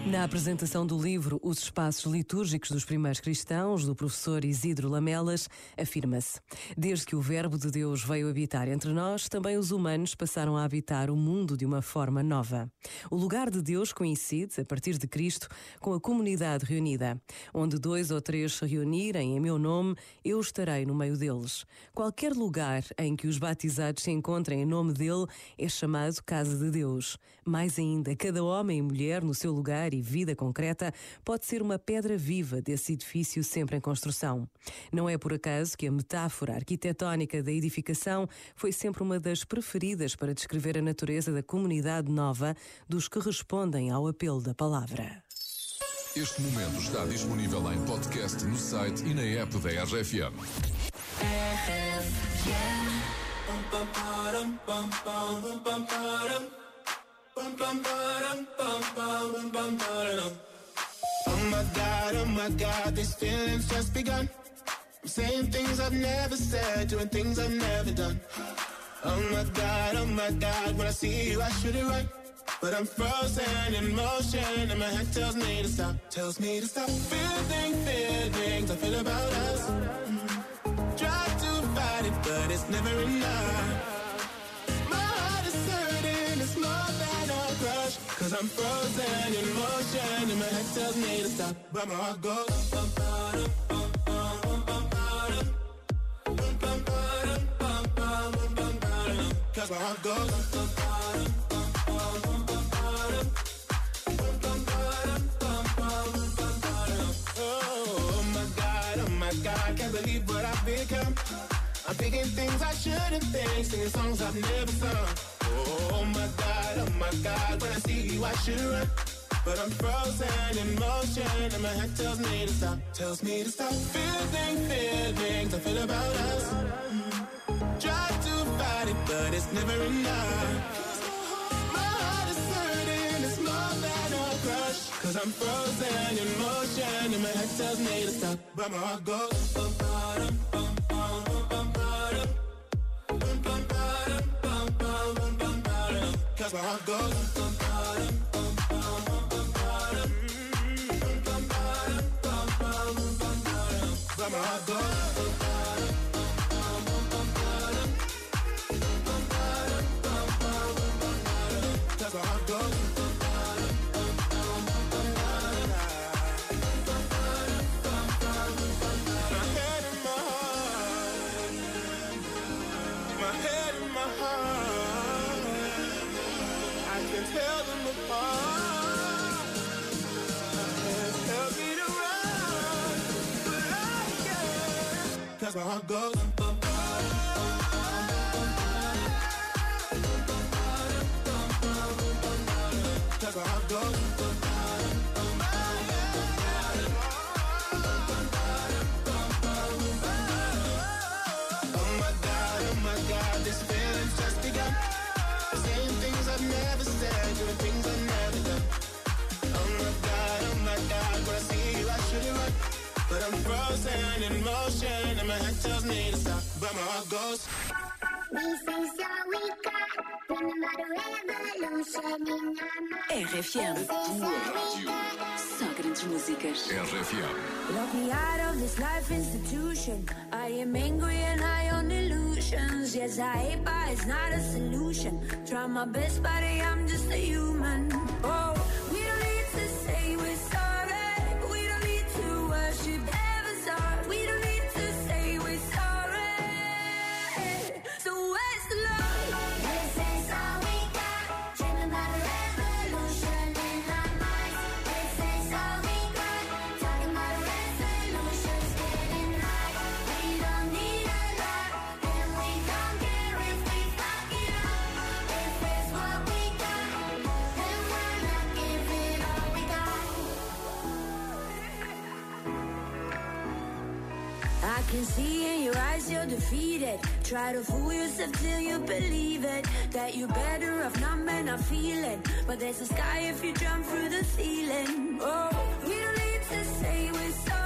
Na apresentação do livro Os Espaços Litúrgicos dos Primeiros Cristãos, do professor Isidro Lamelas, afirma-se: desde que o Verbo de Deus veio habitar entre nós, também os humanos passaram a habitar o mundo de uma forma nova. O lugar de Deus coincide, a partir de Cristo, com a comunidade reunida. Onde 2 ou 3 se reunirem em meu nome, eu estarei no meio deles. Qualquer lugar em que os batizados se encontrem em nome dele é chamado casa de Deus. Mais ainda, cada homem e mulher no seu lugar e vida concreta pode ser uma pedra viva desse edifício sempre em construção. Não é por acaso que a metáfora arquitetónica da edificação foi sempre uma das preferidas para descrever a natureza da comunidade nova dos que respondem ao apelo da palavra. Este momento está disponível em podcast no site e na app da RFM. Oh my God, these feelings just begun. I'm saying things I've never said, doing things I've never done. Oh my God, when I see you I should it right. But I'm frozen in motion and my head tells me to stop. Feelings I feel about us. Try to fight it, but it's never enough. My heart is hurting, it's more than a crush. Cause I'm frozen in motion and my head tells me to stop. But my heart goes cause my heart goes oh my God, can't believe what I've become. I'm thinking things I shouldn't think, singing songs I've never sung. Oh my God, when I see you I should run. But I'm frozen in motion and my head tells me to stop. Feelings I feel about us. Try to fight it, but it's never enough. My heart is hurting, it's more than a crush. Cause I'm frozen in motion and my head tells me to stop. But my heart goes cause my heart goes but my heart goes cause my heart goes tell them apart. Tell me to run, but I can't. Cause my heart goes cause my heart goes oh my God, this feeling's just begun. Saying things I've never said, doing things I've never done. Oh my God, when I see you I should it right. But I'm frozen in motion and my head tells me to stop. But my heart goes RFM. Só grandes músicas. RFM. Lock me out of this life institution. I am angry and high on illusions. Yes, I hate, but it's not a solution. Try my best, but I'm just a human. Oh, we don't need to say we're sorry. We don't need to worship heaven's heart. We don't need to say we're sorry. So where's the love? This is all we got. Dreaming about a revolution in our minds. This is all we got. Talking about a resolutions getting high. We don't need a lot, and we don't care if we fuck it up. If it's what we got, then why not give it all we got? I can see in your eyes you're defeated. Try to fool yourself till you believe it. That you're better off not men not feeling. But there's a sky if you jump through the ceiling. Oh, we don't need to say we're sorry.